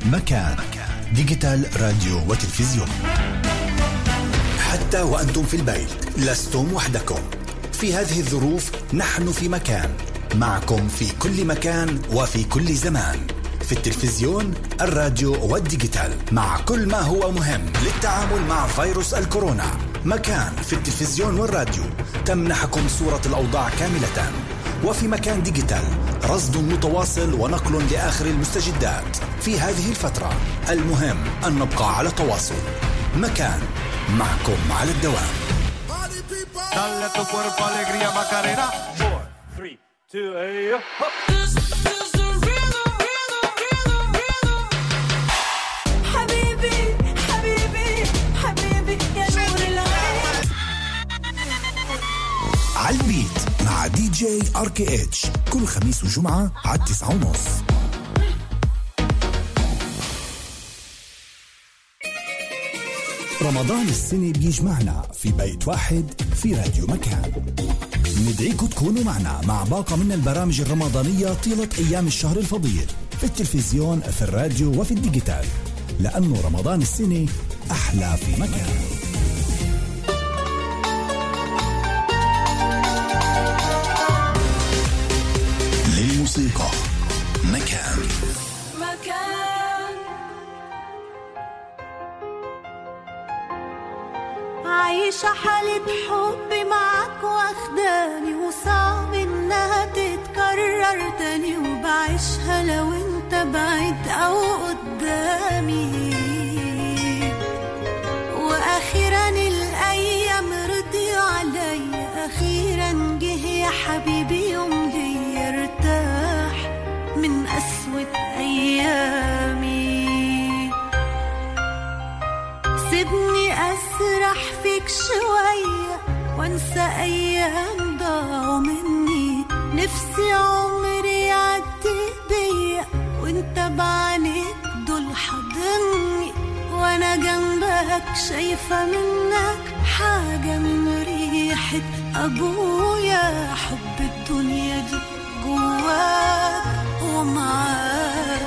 مكان ديجيتال راديو وتلفزيون. حتى وأنتم في البيت لستم وحدكم في هذه الظروف. نحن في مكان معكم في كل مكان وفي كل زمان، في التلفزيون، الراديو والديجيتال، مع كل ما هو مهم للتعامل مع فيروس الكورونا. مكان في التلفزيون والراديو تمنحكم صورة الأوضاع كاملة، وفي مكان ديجيتال رصد متواصل ونقل لآخر المستجدات في هذه الفترة. المهم أن نبقى على تواصل. مكان معكم على الدوام. Dale tu cuerpo alegría Macarena. 4, 3, 2, حبيبي حبيبي حبيبي يا نور العين. على البيت مع دي جي RKH كل خميس وجمعة على 9:30. رمضان السنة بيجمعنا في بيت واحد في راديو مكان. ندعيكم تكونوا معنا مع باقة من البرامج الرمضانية طيلة أيام الشهر الفضيل، في التلفزيون، في الراديو وفي الديجيتال، لأنه رمضان السنة أحلى في مكان. للموسيقى مكان. عايشة حالة حب معك واخداني، وصعب انها تتكرر تاني، وبعيشها لو انت بعيد او قدامي. واخيرا الايام رضي علي، اخيرا جه يا حبيبي يوم لي ارتاح من قسوة ايامي. سيبني أسرح فيك شوية وانسى أيام ضاعوا مني، نفسي عمري يعدي بيا وانت بعينيك دول حضني، وانا جنبك شايفة منك حاجة من ريحة أبويا. حب الدنيا دي جواك ومعاك،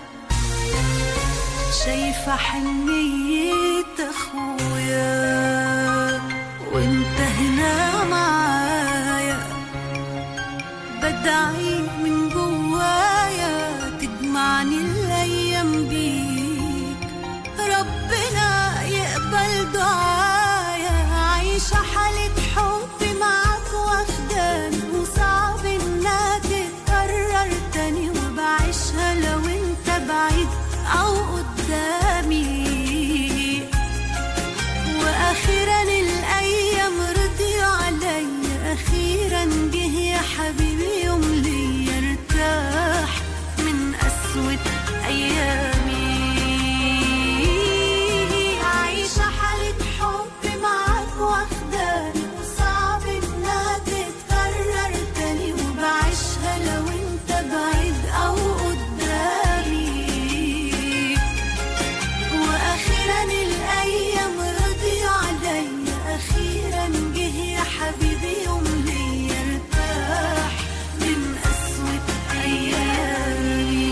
شايفة حنية أخويا وانت هنا معايا. بدعي من جوايا تجمعني الأيام بيك، ربنا يقبل دعايا. عايشة حالة حب معاك واخداني، وصعب انها تتكرر تاني، وبعيشها لو انت بعيد أو قدامي. وأخيرا الأيام رضي علي، أخيرا جه يا حبيبي يوم لي ارتاح من قسوة أيامي. عايشة حالة حب معاك واخداني، وصعب إنها تتكرر تاني، وبعيشها لو انت بعيد أو قدامي. وأخيرا الأيام رضي علي، أخيرا جه يا حبيبي يوم لي ارتاح من قسوة أيامي.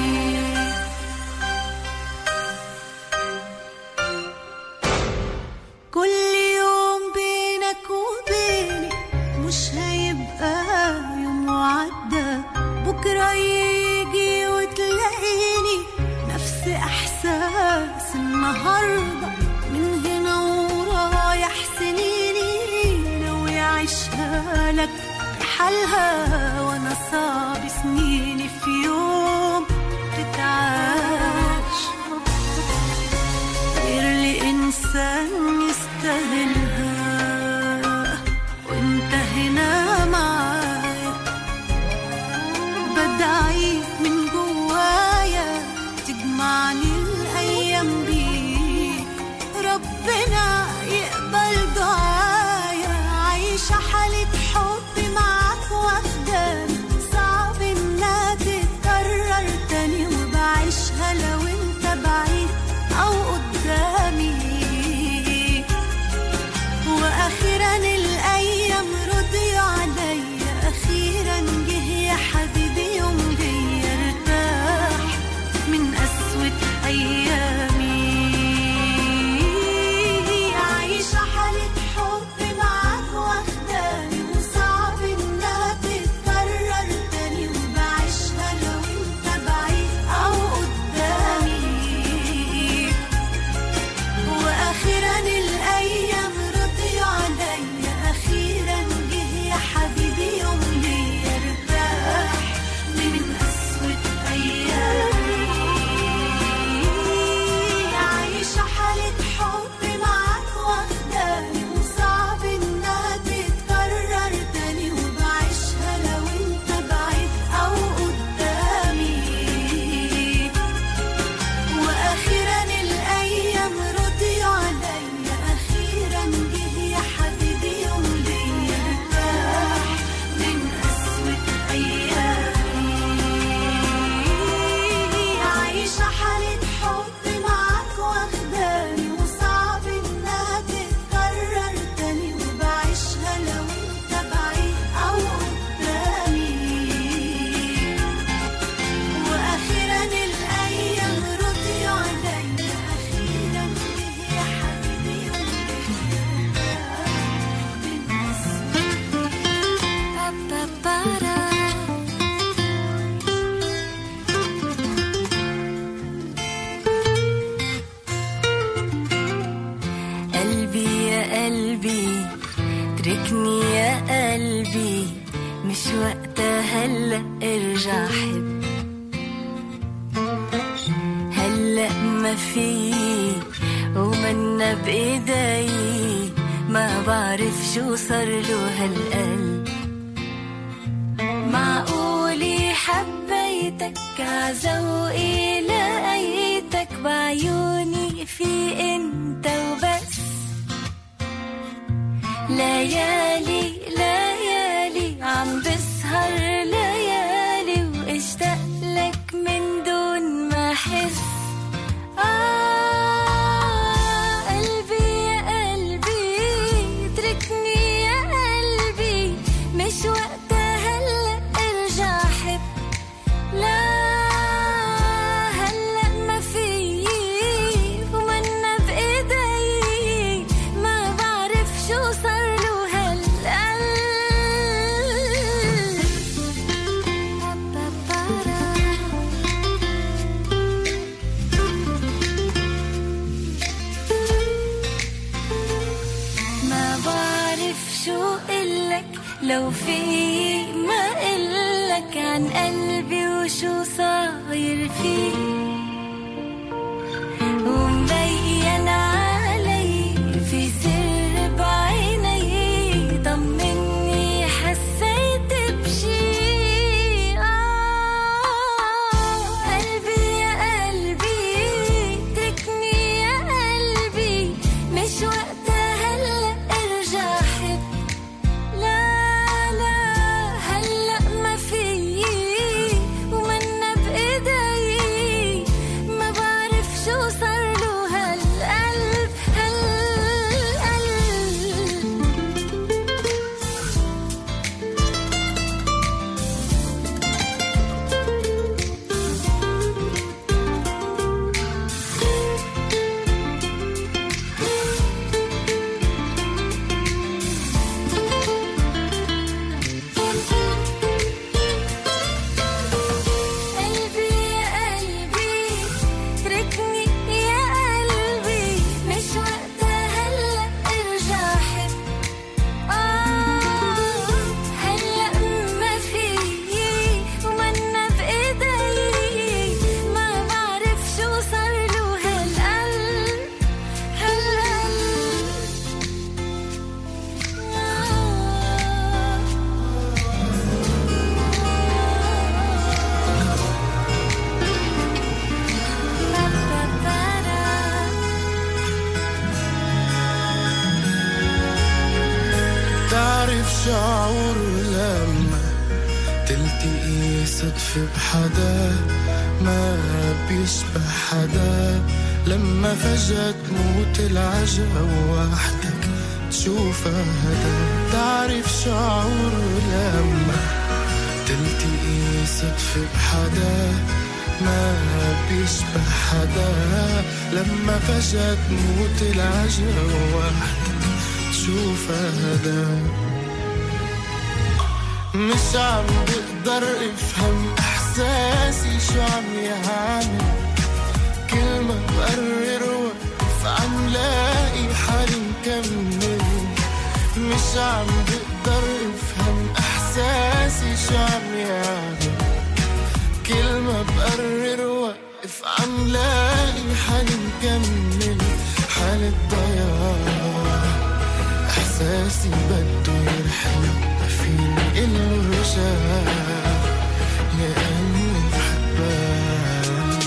كل يوم بينك وبيني مش هيبقى يوم وعدى، بكرة يجي وتلاقيني نفس إحساس النهاردة. من هنا ورايح سنيني ناوي أعيشها لك بحالها، وأنا صعب سنيني في يوم تتعاش غير لإنسان يستاهلها. وانت هنا معايا، بدعي من جوايا تجمعني الأيام بيك، ربنا يقبل دعايا. عايشة حالة حب معاك واخداني، صعب انها أيامي. عايشة حالة حب معاك واخداني وصعب إنها تتكرر تاني وبعيشها لو أنت بعيد أو قدامي. وأخيرا الأيام رضيوا عليا، أخيرا جه يا حبيبي يوم ليا ارتاح من قسوة أيامي. عايشة حالة حب معاك واخداني وصعب إنها تتكرر تاني وبعيشها لو أنت بعيد أو قدامي. وأخيرا الأيام رضيوا عليا، أخيرا جه يا حبيبي يوم ليا ارتاح من قسوة أيامي. عايشة حالة حب معاك واخداني وصعب إنها تتكرر تاني وبعيشها لو أنت بعيد أو قدامي. وأخيرا الأيام رضيوا عليا، أخيرا جه يا حبيبي يوم قلبي يا قلبي تركني يا قلبي، مش وقتها هلأ ارجع حب. هلأ ما في ومنا بإيدي، ما بعرف شو صار له هالقلب. معقولي حبيتك عزوقي لقيتك بعيوني في انت وبس. ليالي ليالي عم بسهر ليالي واشتاق لك من دون ما احس. قلبي يا قلبي اتركني يا قلبي، مش وقتها هلأ ارجع حب. لا هلأ ما في ومنا بإيدي، ما بعرف شو صار له هالقلب. ما بعرف شو قلك، لو في ما قلك عن قلبي وشو صاير فيه. ومبين علي في سر بعيني، طمني حسيت بشي. قلبي يا قلبي تركني يا قلبي، مش وقتها هلأ ارجع حب. لا لا هلأ ما في ومنا بإيدي، ما بعرف شو صار له هالقلب قلبي يا قلبي تركني يا قلبي، مش وقتها هلأ ارجع حب. هلأ ما في ومنا بإيدي، ما بعرف شو صار له هالقلب. تعرف شعور لما تلتقي صدفة بحدا ما بيشبه حدا، لما فجأة تموت العجقة وحدك تشوفها هدا. تعرف شعور لما تلتقي صدفة بحدا ما بيشبه حدا لما فجأة تموت العجلة وحدك شوف هذا مش عم بقدر افهم احساسي شو عم يعمل كل ما بقرر وقف عم لاقي حالي مكمل مش عم بقدر افهم احساسي شو عم يعمل كل ما بقرر وقف عم لاقي حالي مكمل حالة ضياع احساسي بده يرحل فيني إله رجاء لأني بحبك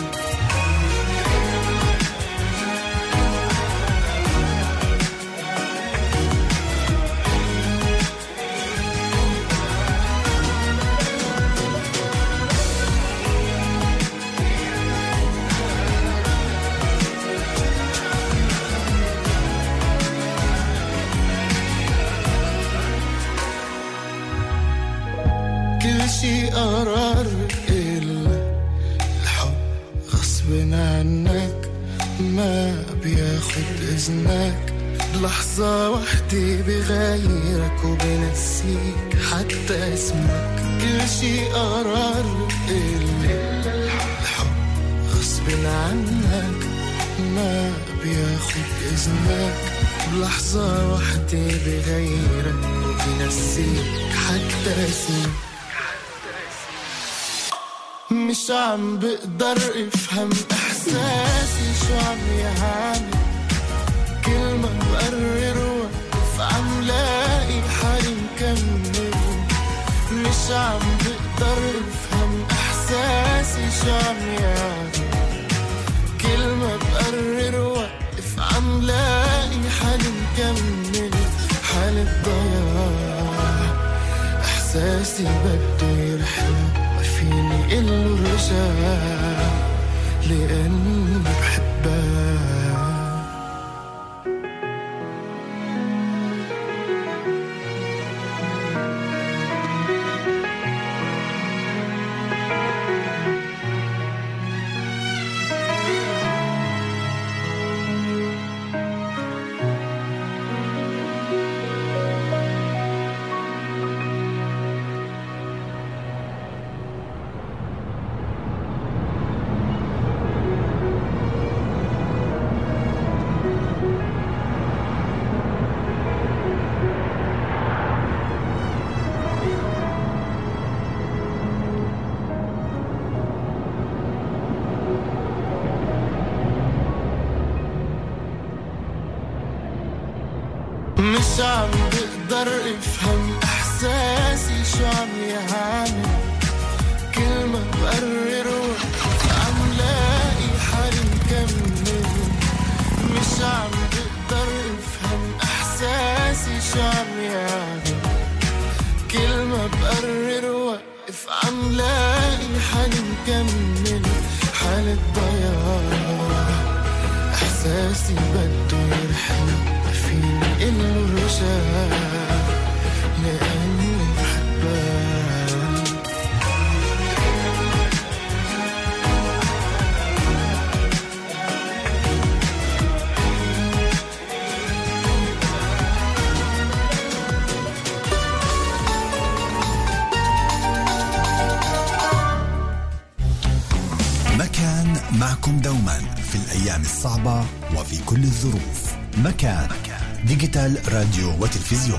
كل شي قرار إلا الحب غصب عنك ما بياخد إذنك بلحظة وحدة بغيرك وبنسيك حتى اسمك كل شي قرار إلا الحب غصب عنك ما بياخد إذنك بلحظة وحدة بغيرك وبنسيك حتى اسمك مش عم بقدر افهم احساسي شو عم يعمل كل ما بقرر وقف عم لاقي حالي مكمل مش عم بقدر افهم احساسي شو عم يعمل كل ما بقرر وقف عم لاقي حالي مكمل حالة ضياع احساسي بده يرحل فيني إله رجاء لأني بحبك مش عم بقدر افهم احساسي شو عم يعمل كل ما بقرر وقف عم لاقي حالي مكمل مش عم بقدر افهم احساسي شو عم يعمل كل ما بقرر وقف عم لاقي حالي مكمل حالة ضياع احساسي بده يرحل فيني إله رجاء لأني بحبك مكان معكم دوما في الأيام الصعبة وفي كل الظروف. مكان ديجيتال راديو وتلفزيون.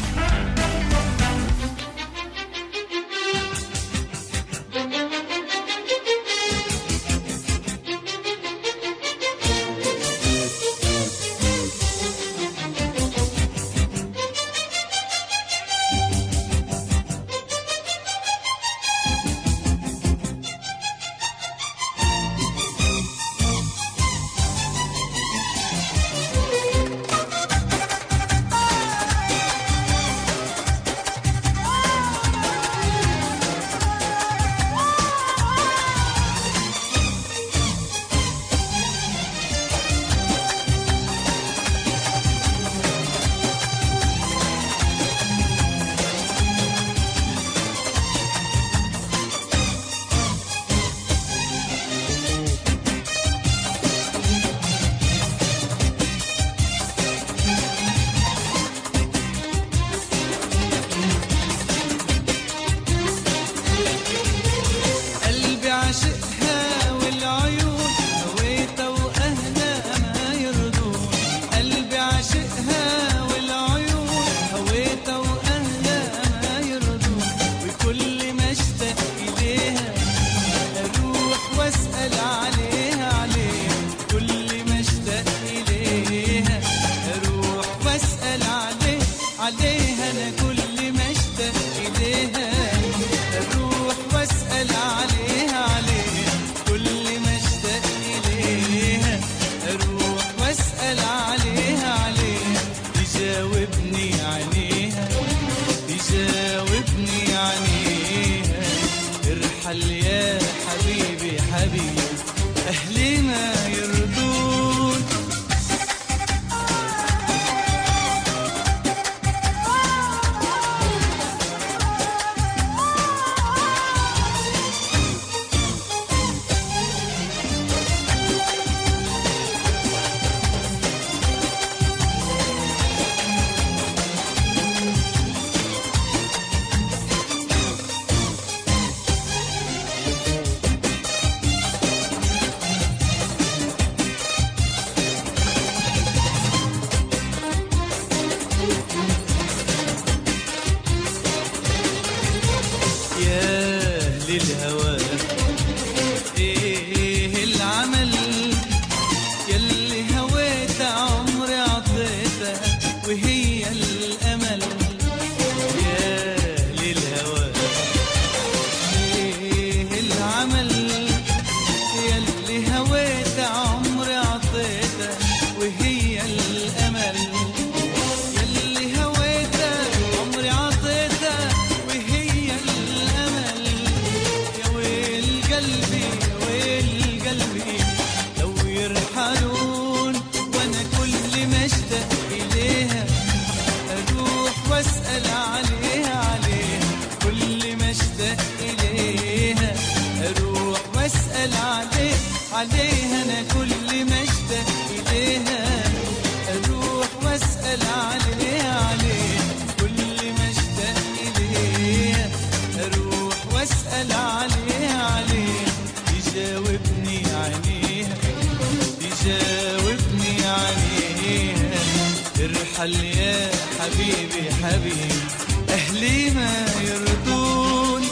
كل ما اشتاق إليها أروح وأسأل عليها كل ما اشتاق إليها أروح وأسأل عليها تجاوبني عينيها تجاوبني عينيها ارحل يا حبيبي حبيبي أهلي ما يرضوني.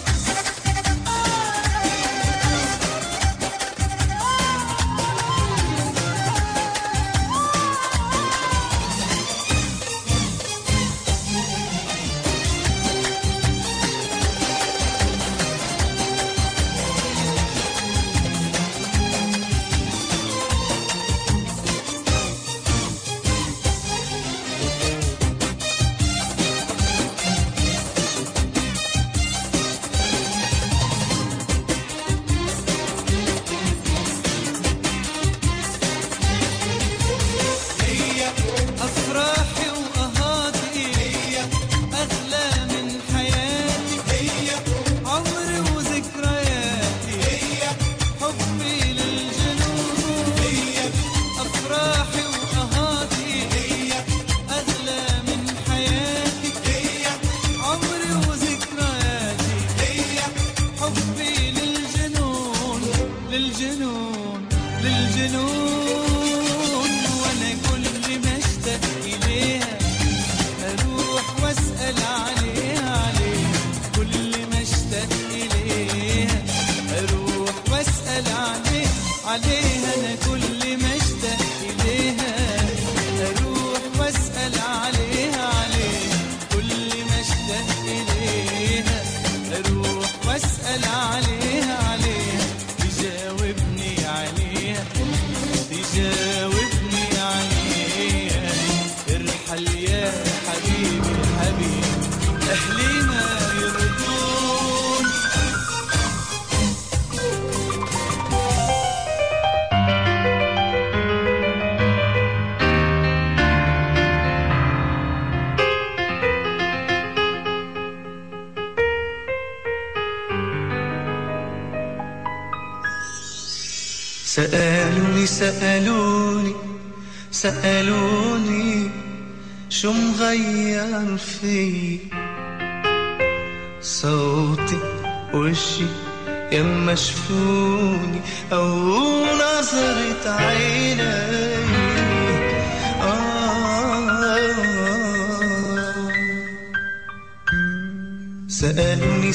سألوني شو مغير في صوتي وشي يما شفوني أو نظرة عيني سألوني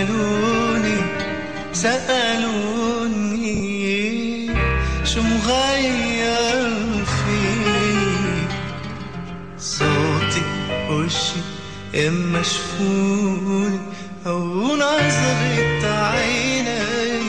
شو مغير فيك صوتي وشي إما شفوني أو نظرة عيني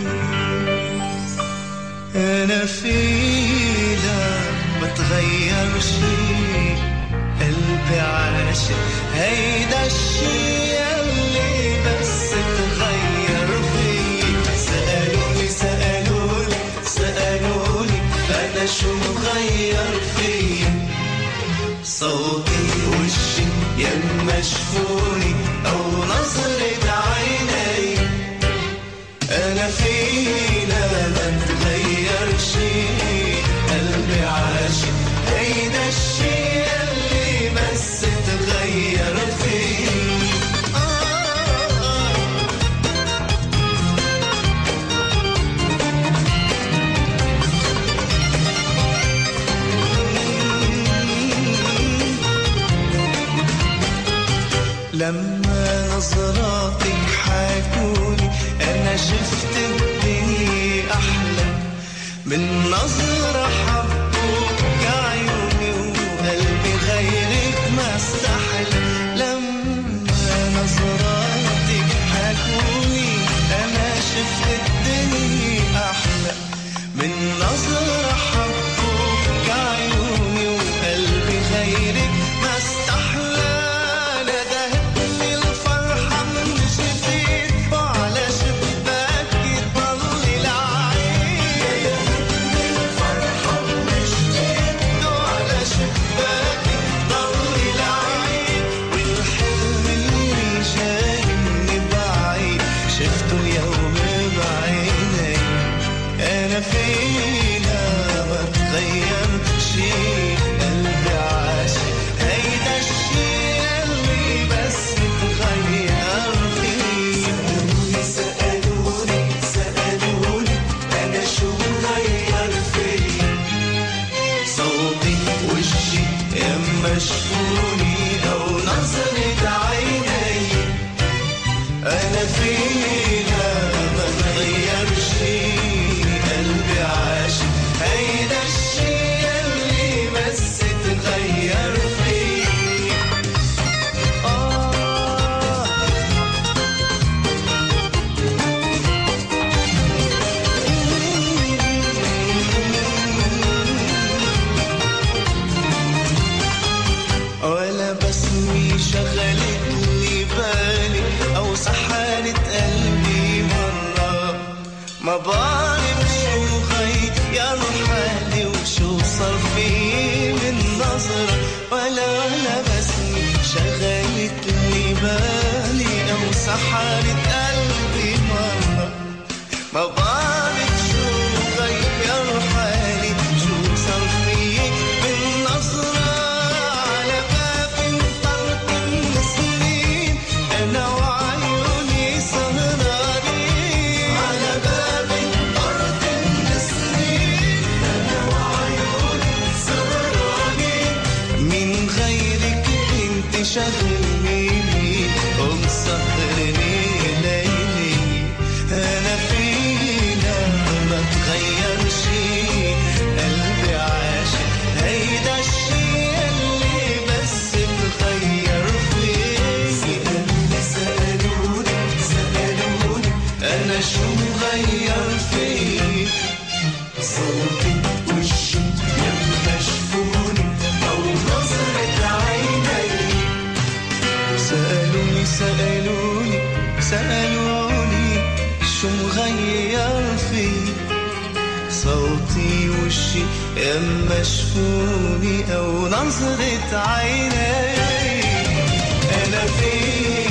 أنا فيلا بتغير شي قلبي عاشق هيدا الشي اللي بس تغير فيك سألوني أنا شو مغير فيك صوتي وشي يما شفوني أو نظرة عيني أنا فينا ما تغير شي قلبي عاشق هيدا الشي اللي بس تغير فيه لما نظراتك حاكوني أنا شفت الدنيا أحلى من نظرة حبوك عيوني وقلبي غيرك ما استحلى لما نظراتك حاكوني أنا شفت الدنيا أحلى من نظرة حبوك عيوني وقلبي غيرك ما استحلى شفته اليوم بعيني أنا فين تغير شي قلبي عاشق هيدا الشي اللي بس تغير فيه سألوني أنا شو غير فيه صوتي وشي يما شفوني أو نظرة عيني أنا فيها ما تغير شي قلبي عاشق هيدا الشي اللي بس تغير فيه ولا بسمي شغلت لي بالي أو سحرت قلبي مرة ما بعرف شو غير حالي وشو صار فيه من نظرة ولا بسمي شغلت لي بالي أو سحرت قلبي مرة ما بعرف شو غير حالي شو صار فيه من نظرة على باب طرق السنين أنا وعيوني سهرانين على باب طرق السنين أنا وعيوني سهرانين من غيرك انت شغلني ومسهرني ليلي أنا فينا ما تغير شي قلبي عاشق هيدا الشي اللي بس تغير فيه سألوني أنا شو غير فيه صوتي وشي يما شفوني أو نظرة عيني سألوني شو مغير فيه صوتي وشي يما شفوني أو نظرة عيني أنا فيه